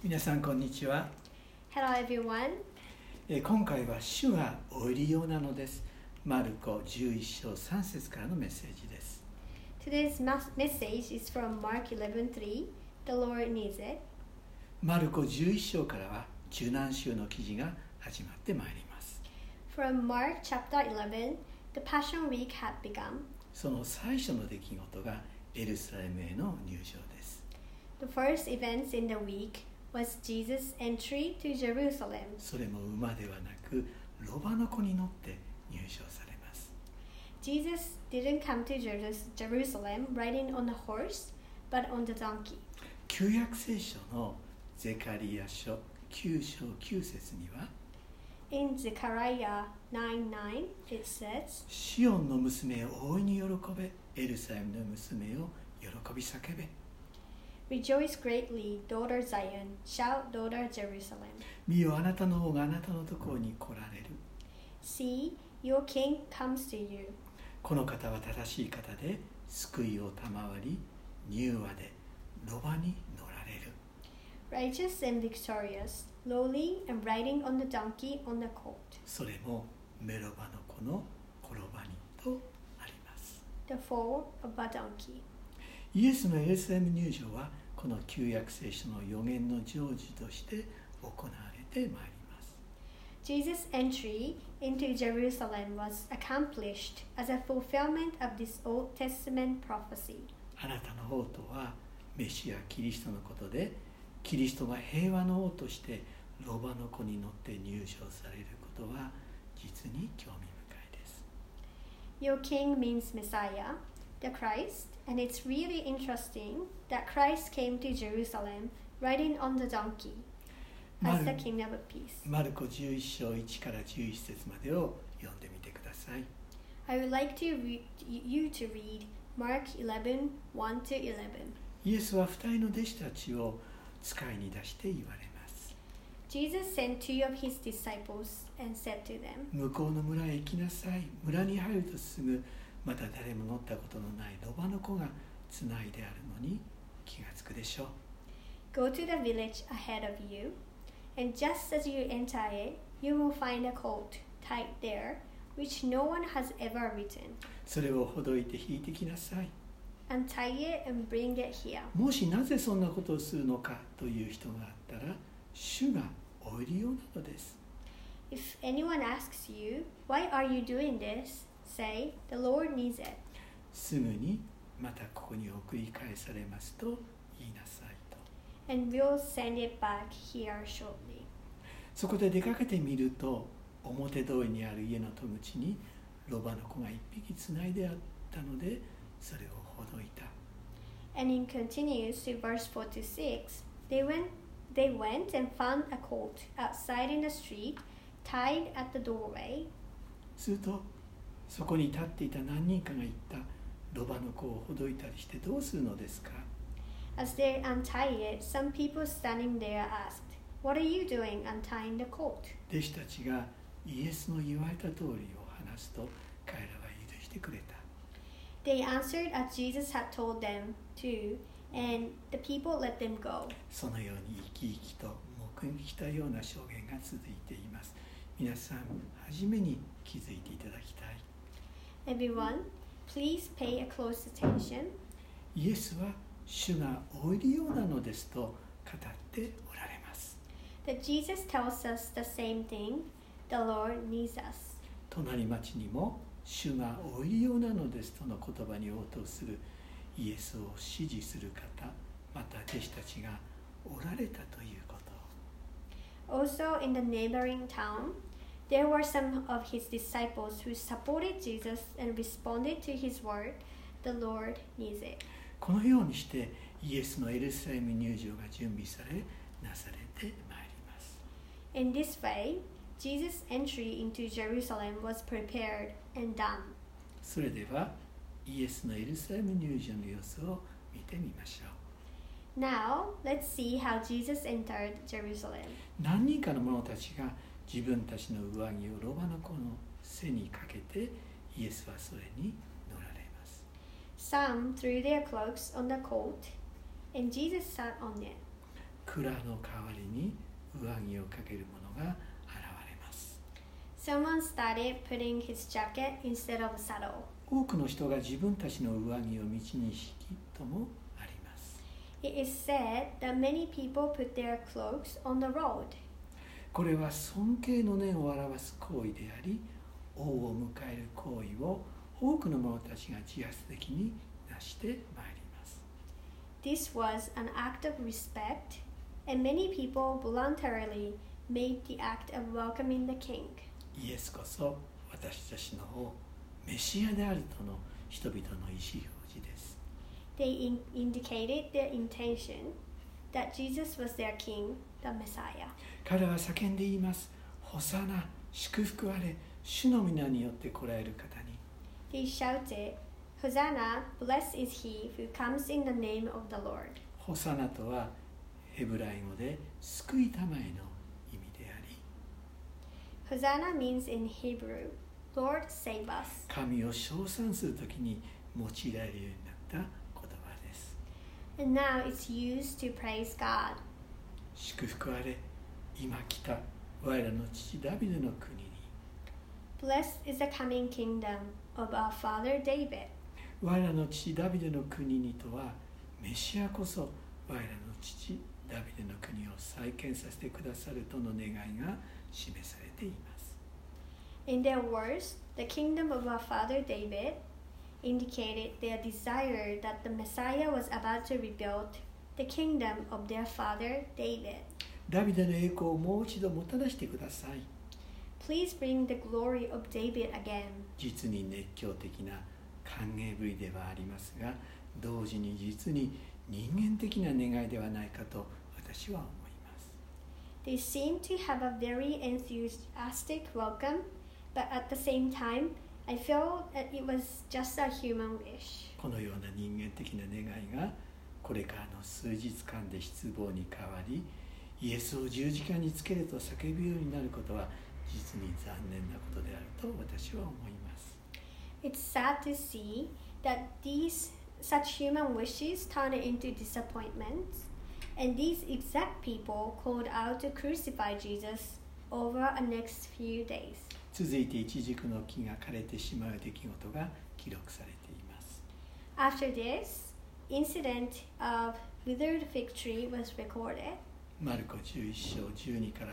皆さんこんにちは。 Hello everyone. 今回は主がお入り用なのです。マルコ11章3節からのメッセージです。 Today's message is from Mark 11:3. The Lord needs it. マルコ11章からは受難週の記事が始まってまいります。 From Mark chapter 11, the Passion Week had begun. その最初の出来事がエルサレムへの入場です。 The first events in the week was Jesus' entry to Jerusalem. それも馬ではなくロバの子に乗って入場されます。 Jesus didn't come to Jerusalem riding on a horse, but on the donkey. 旧約聖書のゼカリヤ書9章9節には In Zechariah 9:9, it says, シオンの娘を大いに喜べ、エルサレムの娘を喜び叫べ。 Rejoice greatly, daughter Zion, shout, daughter Jerusalem. 見よ、あなたの王があなたのところに来られる。 See, your king comes to you. この方は正しい方で、救いを賜り、柔和でロバに乗られる。 Righteous and victorious, lowly and riding on the donkey on the colt. それもメロバの子の転ばにとあります。 The fall of a donkey. イエスのエルサレム入場は、この旧約聖書の予言の成就として行われてまいります。 Jesus' entry into Jerusalem was accomplished as a fulfillment of this Old Testament prophecy. あなたの王とはメシアキリストのことで、キリストが平和の王としてロバの子に乗って入場されることは実に興味深いです。 Your king means Messiah, the Christ, and it's really interesting that Christ came to Jerusalem riding on the donkey as the king of peace. マルコ11章1から11節までを読んでみてください。 I would like you to read Mark 11:1 to 11. イエスは二人の弟子たちを使いに出して言われます。 Jesus sent two of his disciples and said to them, 向こうの村へ行きなさい。村に入るとすぐ、また誰も乗ったことのないロバの子がつないであるのに気がつくでしょう。 Go to the village ahead of you, and just as you enter it, you will find a colt tied there, which no one has ever ridden. それをほどいて引いてきなさい。 Untie it and bring it here. もしなぜそんなことをするのかという人があったら、主がお入り用なのです。 If anyone asks you, why are you doing this? Say, the Lord needs it. すぐにまたここに送り返されますと言いなさいと。 And we'll send it back here shortly. そこで出かけてみると、表通りにある家の戸口にロバの子が一匹つないであったので、それをほどいた。 And it continues to verse 46. They went and found a colt outside in the street, tied at the doorway. すると、そこに立っていた何人かが言った。ロバの子をほどいたりしてどうするのですか？ As they untied it, some people standing there asked, What are you doing untying the colt? 弟子たちがイエスの言われた通りを話すと、彼らは許してくれた。 They answered as Jesus had told them to, and the people let them go. そのように生き生きと目撃したような証言が続いています。皆さん、初めに気づいていただきたい。 Everyone, please pay a close attention. イエスは主がお入り用なのですと語っておられます。 That Jesus tells us the same thing. The Lord needs us. 隣町にも主がお入り用なのですとの言葉に応答するイエスを支持する方、また弟子たちがおられたということ。 Also in the neighboring town, there were some of his disciples who supported Jesus and responded to his word. The Lord needs it. このようにしてイエスのエルサレム入場が準備されなされてまいります。 In this way, Jesus' entry into Jerusalem was prepared and done. それではイエスのエルサレム入場の様子を見てみましょう。 Now, let's see how Jesus entered Jerusalem. 何人かの者たちが自分たちの上着をロバの子の背にかけて、イエスはそれに乗られます。 Some threw their cloaks on the colt, and Jesus sat on it. 蔵の代わりに上着をかける者が現れます。 Someone started putting his jacket instead of a saddle. 多くの人が自分たちの上着を道に引きともあります。 It is said that many people put their cloaks on the road. これは尊敬の念を表す行為であり、王を迎える行為を多くの者たちが自発的になしてまいります。 This was an act of respect, and many people voluntarily made the act of welcoming the king. イエスこそ私たちの王、メシアであるとの人々の意思表示です。 They indicated their intention that Jesus was their king, the Messiah. 彼は叫んで言います。ホサナ、祝福あれ、主の皆によって来られる方に。 They shouted, Hosanna, blessed is he who comes in the name of the Lord. ホサナとはヘブライ語で救いたまえの意味であり、 Hosanna means in Hebrew, Lord save us. 神を称賛するときに用いられるようになった言葉です。 And now it's used to praise God. 祝福あれ、今来た我らの父ダビデの国に。 Blessed is the coming kingdom of our father David. 我らの父ダビデの国にとは、メシアこそ我らの父ダビデの国を再建させてくださるとの願いが示されています。 In their words, the kingdom of our father David indicated their desire that the Messiah was about to rebuild the kingdom of their father David. ダビデの栄光をもう一度もたらしてください。 Please bring the glory of David again. 実に熱狂的な歓迎ぶりではありますが、同時に実に人間的な願いではないかと私は思います。 They seem to have a very enthusiastic welcome, but at the same time, I feel that it was just a human wish. このような人間的な願いがこれからの数日間で失望に変わり、イエスを十字架につけると叫ぶようになることは実に残念なことであると私は思います。 It's sad to see that such human wishes turn into disappointments, and these exact people called out to crucify Jesus over the next few days. 続いてイチジクの木が枯れてしまう出来事が記録されています。 After this, incident of withered fig tree was recorded. マルコ11章12から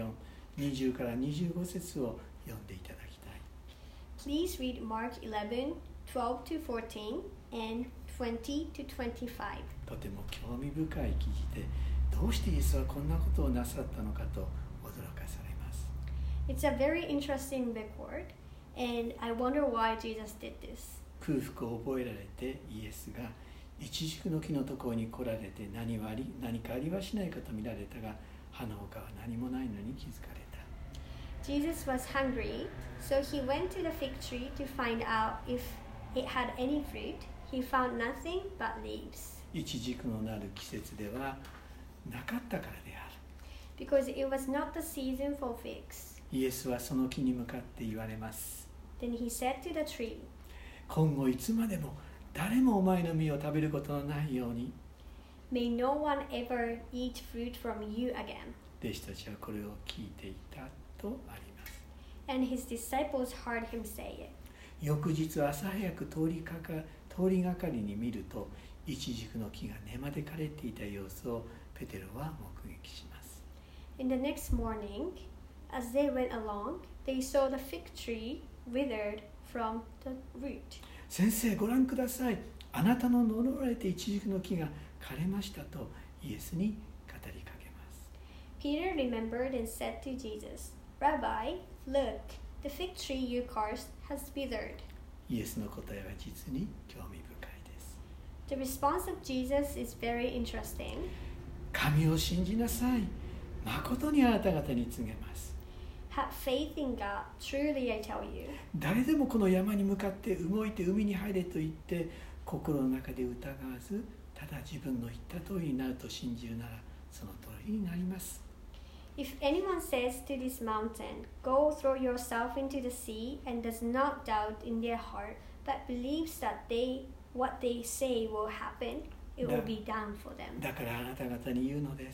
14、20から25節を読んでいただきたい。 Please read Mark 11, 12 to 14 and 20 to 25. とても興味深い記事で、どうしてイエスはこんなことをなさったのかと驚かされます。 It's a very interesting record, and I wonder why Jesus did this. 空腹を覚えられてイエスがイチジクの木のところに来られて何かありはしないかと見られたが、葉の他は何もないのに気づかれた。 Jesus was hungry, so he went to the fig tree to find out if it had any fruit. He found nothing but leaves. イチジクのなる季節ではなかったからである。 Because it was not the season for figs. イエスはその木に向かって言われます。 Then he said to the tree, 今後いつまでも誰もお前の実を食べることのないように。 May no one ever eat fruit from you again. 弟子たちはこれを聞いていたとあります。 And his disciples heard him say it. 翌日朝早く通りがかりに見ると、イチジクの木が根まで枯れていた様子をペテロは目撃します。 In the next morning, as they went along, they saw the fig tree withered from the root. 先生ご覧ください。あなたの呪われてイチジクの木が枯れましたとイエスに語りかけます。 Peter remembered and said to Jesus, Rabbi, look, the fig tree you cursed has withered. イエスの答えは実に興味深いです。 The response of Jesus is very interesting. 神を信じなさい。誠にあなた方に告げます。 Have faith in God, truly I tell you. 誰でもこの山に向かって動いて海に入れと言って心の中で疑わず、ただ自分の言った通りになると信じるならその通りになります。 If anyone says to this mountain, Go throw yourself into the sea, and does not doubt in their heart, but believes that what they say will happen, it will be done for them. だからあなた方に言うのです。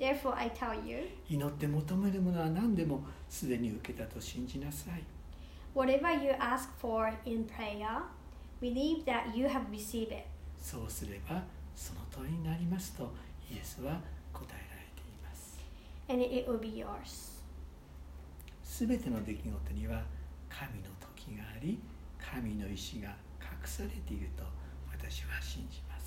Therefore I tell you, 祈って求めるものは何でもすでに受けたと信じなさい。 whatever you ask for in prayer, believe that you have received it, そうすればその通りになりますとイエスは答えられています。 and it will be yours. すべての出来事には神の時があり、神の意志が隠されていると私は信じます。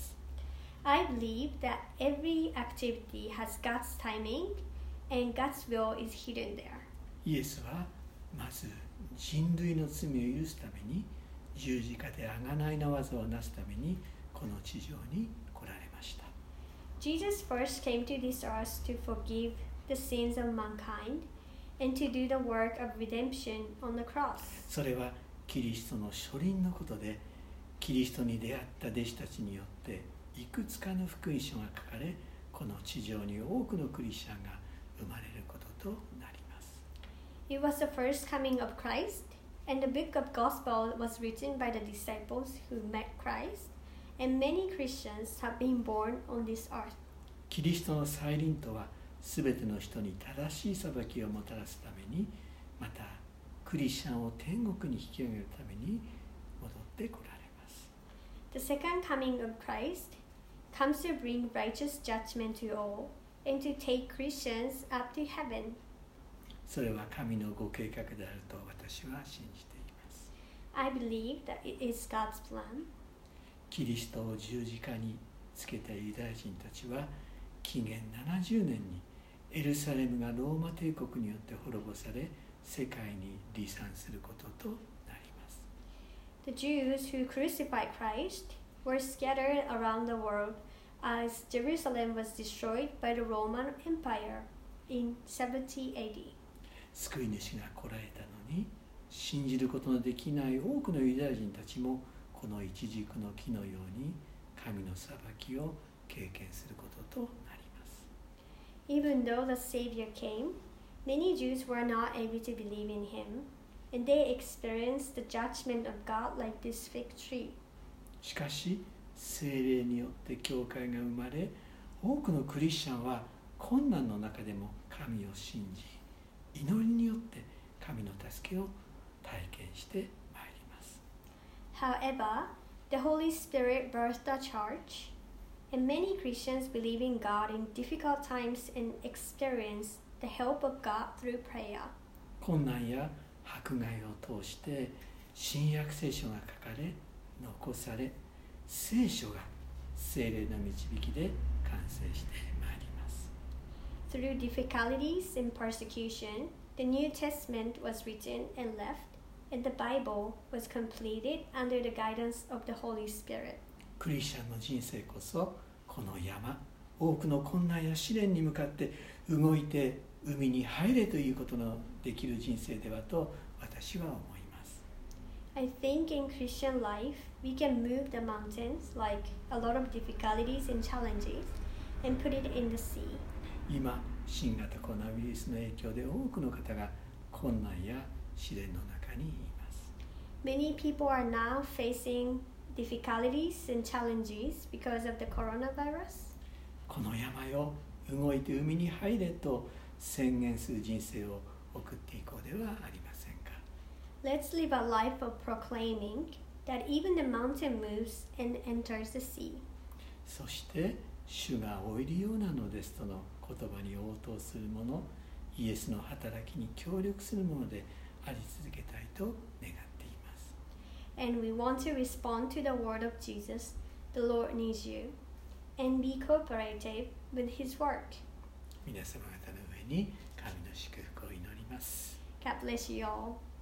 I believe that every activity has God's timing and God's will is hidden there. イエスはまず人類の罪を許すために十字架で贖いの技をなすためにこの地上に来られました。 Jesus first came to this earth to forgive the sins of mankind and to do the work of redemption on the cross. それはキリストの初臨のことで、キリストに出会った弟子たちによっていくつかの福音書が書かれ、この地上に多くのクリスチャンが生まれることとなります。 It was the first coming of Christ, and the book of Gospel was written by the disciples who met Christ, and many Christians have been born on this earth. キリストの再臨とは、すべての人に正しい裁きをもたらすために、またクリスチャンを天国に引き上げるために戻ってこられます。 The second coming of Christ comes to bring righteous judgment to all and to take Christians up to heaven. それは神のご計画であると私は信じています。 I believe that it is God's plan. キリストを十字架につけたユダヤ人たちは紀元70年にエルサレムがローマ帝国によって滅ぼされ、世界に離散することとなります。 The Jews who crucified Christ were scattered around the world as Jerusalem was destroyed by the Roman Empire in 70 AD. 救い主が来られたのに、信じることのできない多くのユダヤ人たちもこの一軸の木のように神の裁きを経験することとなります。 Even though the Savior came, many Jews were not able to believe in him, and they experienced the judgment of God like this fig tree. しかし、聖霊によって教会が生まれ、多くのクリスチャンは困難の中でも神を信じ、祈りによって神の助けを体験してまいります。 However, the Holy Spirit birthed the church, and many Christians believe in God in difficult times and experience the help of God through prayer. 困難や迫害を通して新約聖書が書かれ、残され、聖書が聖霊の導きで完成してまいります。 Through difficulties and persecution, the New Testament was written and left, and the Bible was completed under the guidance of the Holy Spirit. クリスチャンの人生こそこの山、多くの困難や試練に向かって動いて海に入れということのできる人生ではと私は思います。 I think in Christian life, we can move the mountains like a lot of difficulties and challenges and put it in the sea. 今、新型コロナウイルスの影響で多くの方が困難や試練の中にいます。 Many people are now facing difficulties and challenges because of the coronavirus. この山よ、動いて海に入れと宣言する人生を送っていこうではありませんか。 Let's live a life of proclaiming that even the mountain moves and enters the sea. そして主がおいるようなのですとの言葉に応答するもの、イエスの働きに協力するものであり続けたいと願っています。 And we want to respond to the word of Jesus, the Lord needs you, and be cooperative with his work. 皆様方の上に神の祝福を祈ります。 God bless you all.